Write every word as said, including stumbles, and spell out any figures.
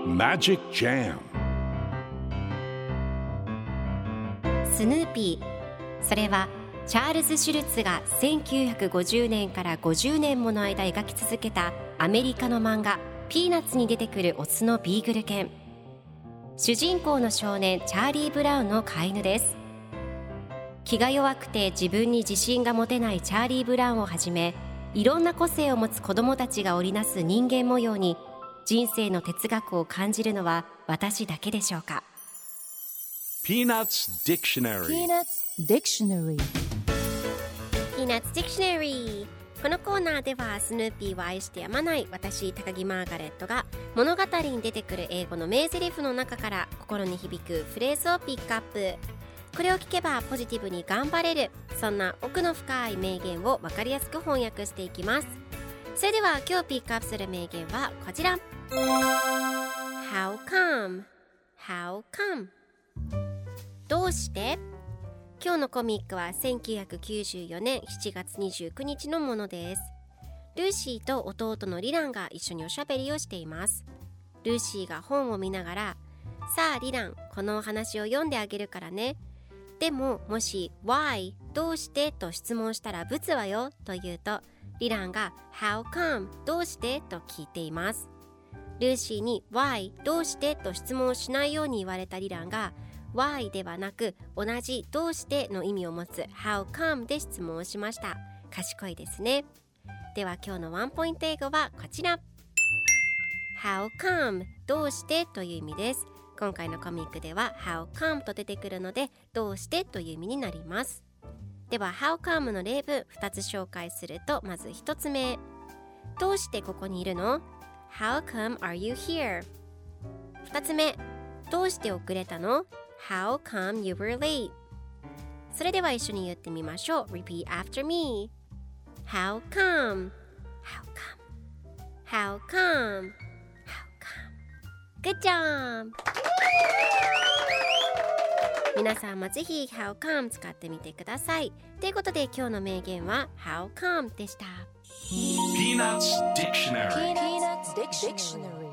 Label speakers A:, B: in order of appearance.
A: Magic Jam
B: スヌーピー、それはチャールズ・シュルツがせんきゅうひゃくごじゅうねんからごじゅうねんもの間描き続けたアメリカの漫画ピーナッツに出てくるオスのビーグル犬。主人公の少年チャーリー・ブラウンの飼い犬です。気が弱くて自分に自信が持てないチャーリー・ブラウンをはじめ、いろんな個性を持つ子どもたちが織りなす人間模様に人生の哲学を感じるのは私だけでしょうか。
A: Peanuts Dictionary
C: Peanuts Dictionary
B: Peanuts Dictionary。 このコーナーではスヌーピーを愛してやまない私高木マーガレットが物語に出てくる英語の名台詞の中から心に響くフレーズをピックアップ。これを聞けばポジティブに頑張れる、そんな奥の深い名言を分かりやすく翻訳していきます。それでは今日ピックアップする名言はこちら。 How come? How come? どうして？今日のコミックはせんきゅうひゃくきゅうじゅうよねんしちがつにじゅうくにちのものです。ルーシーと弟のリランが一緒におしゃべりをしています。ルーシーが本を見ながら、さあリラン、このお話を読んであげるからね。でももし Why どうしてと質問したらブツはよと言うと、リランが How come どうしてと聞いています。ルーシーに Why どうしてと質問しないように言われたリランが Why ではなく同じどうしての意味を持つ How come で質問をしました。賢いですね。では今日のワンポイント英語はこちら。 How come どうしてという意味です。今回のコミックでは How come と出てくるのでどうしてという意味になります。では How come の例文ふたつ紹介すると、まずひとつめ、どうしてここにいるの？ How come are you here? ふたつめ、どうして遅れたの？ How come you were late? それでは一緒に言ってみましょう。 Repeat after me. How come? How come? How come? Good job! 皆さんもぜひ How come 使ってみてください。ということで今日の名言は How come でした。
A: Peanuts Dictionary
C: Peanuts Dictionary